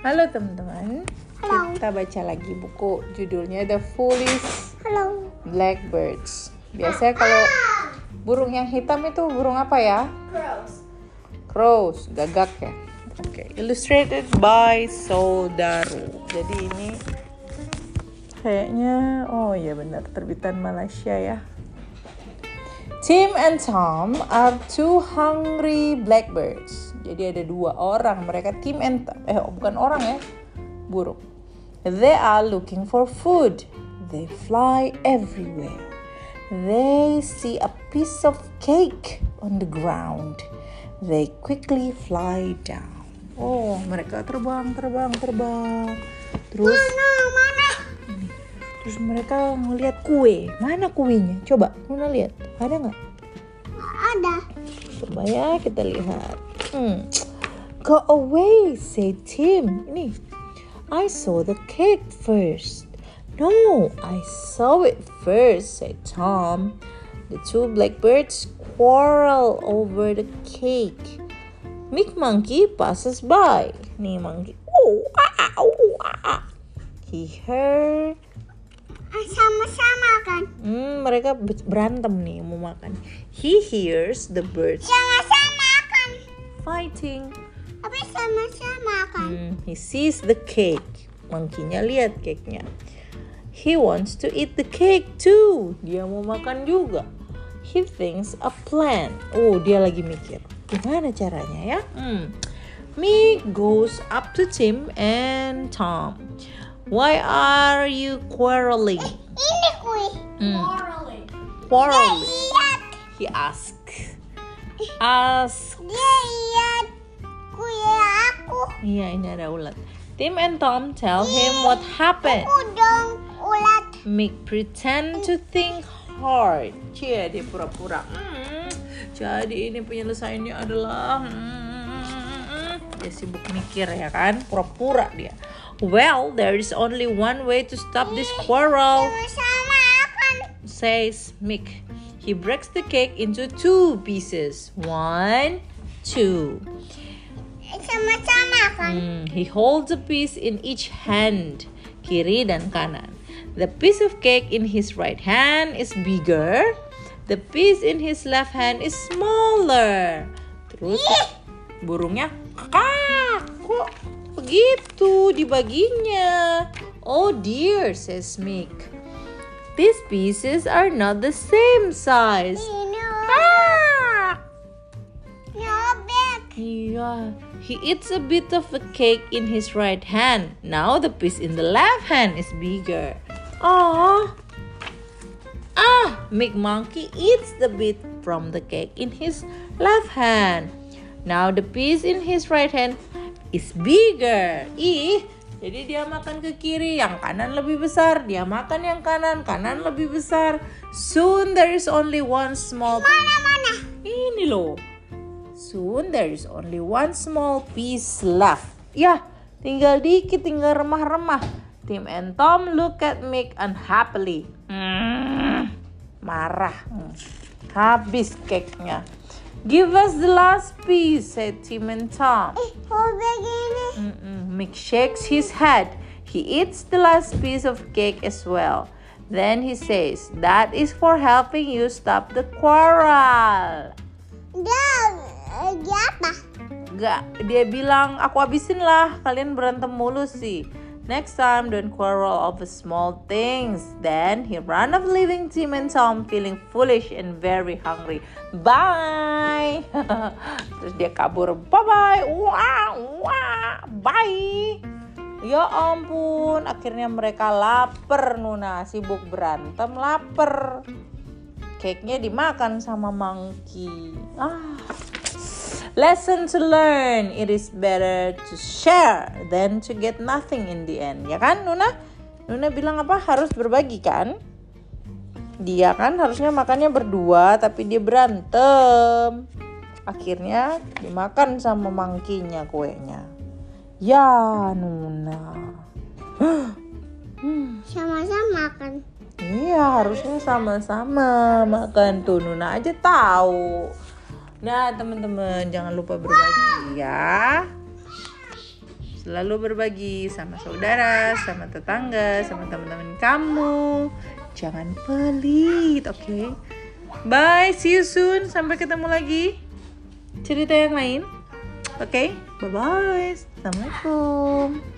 Halo teman-teman. Halo. Kita baca lagi buku judulnya The Foolish Halo. Blackbirds. Biasanya kalau burung yang hitam itu burung apa ya? Crows, gagak ya. Oke, illustrated by Sodaru. Jadi ini kayaknya, oh iya benar, terbitan Malaysia ya. Tim and Tom are two hungry blackbirds. Jadi ada dua orang, mereka Tim and Tom. Bukan orang ya, burung. They are looking for food. They fly everywhere. They see a piece of cake on the ground. They quickly fly down. Oh, mereka terbang. Terus Mana? Terus mereka ngeliat kue. Mana kuenya? Coba, Nuna lihat. Ada nggak? Ada. Coba ya kita lihat. Go away, said Tim. Ini, I saw the cake first. No, I saw it first, said Tom. The two blackbirds quarrel over the cake. Mick Monkey passes by. Nih monkey. He heard. Sama-sama kan? Mereka berantem nih mau makan. He hears the birds Sama-sama kan? fighting. Tapi sama-sama kan? He sees the cake. Monkey-nya lihat cake-nya. He wants to eat the cake too. Dia mau makan juga. He thinks a plan. Oh, dia lagi mikir. Gimana caranya ya? Mick goes up to Tim and Tom. Why are you quarreling? Ini kue. Quarreling. Lihat. He asked. Dia lihat kue aku. Iya, ini ada ulat. Tim and Tom tell him what happened. Aku dong ulat. Mick pretend to think hard. Cie, dia pura-pura. Jadi ini penyelesaiannya adalah dia sibuk mikir ya kan, pura-pura dia. Well, there is only one way to stop this quarrel, Sama-sama kan? says Mick. He breaks the cake into 2 pieces. 1, 2. Sama-sama kan? He holds a piece in each hand, kiri dan kanan. The piece of cake in his right hand is bigger. The piece in his left hand is smaller. Terus burungnya, kok begitu dibaginya? Oh dear, says Mick. These pieces are not the same size. Ini robek. Yeah, he eats a bit of the cake in his right hand. Now the piece in the left hand is bigger. Mick Monkey eats the bit from the cake in his left hand. Now the piece in his right hand is bigger. Jadi dia makan ke kiri, yang kanan lebih besar. Dia makan yang kanan lebih besar. Soon there is only one small. Mana? Ini loh. Soon there is only one small piece left. Ya, tinggal dikit, tinggal remah-remah. Tim and Tom look at Mick unhappily. Marah. Habis cake-nya. Give us the last piece, said Tim and Tom. Robek ini. Mick shakes his head. He eats the last piece of cake as well. Then he says, that is for helping you stop the quarrel. Dia apa? Dia bilang, aku habisin lah, kalian berantem mulu sih. Next time, don't quarrel over small things. Then he ran off, leaving Tim and Tom feeling foolish and very hungry. Bye. Terus dia kabur. Bye-bye. Bye. Ya ampun, akhirnya mereka lapar. Nuna sibuk berantem, lapar. Cake-nya dimakan sama monkey. Lesson to learn. It is better to share than to get nothing in the end. Ya kan, Nuna? Nuna bilang apa? Harus berbagi kan? Dia kan harusnya makannya berdua, tapi dia berantem. Akhirnya dimakan sama monkey-nya kuenya. Ya, Nuna. Sama-sama kan? Iya, harusnya sama-sama makan tuh. Nuna aja tahu. Nah, teman-teman, jangan lupa berbagi ya. Selalu berbagi sama saudara, sama tetangga, sama teman-teman kamu. Jangan pelit, oke? Bye, see you soon. Sampai ketemu lagi cerita yang lain. Oke, bye-bye. Assalamualaikum.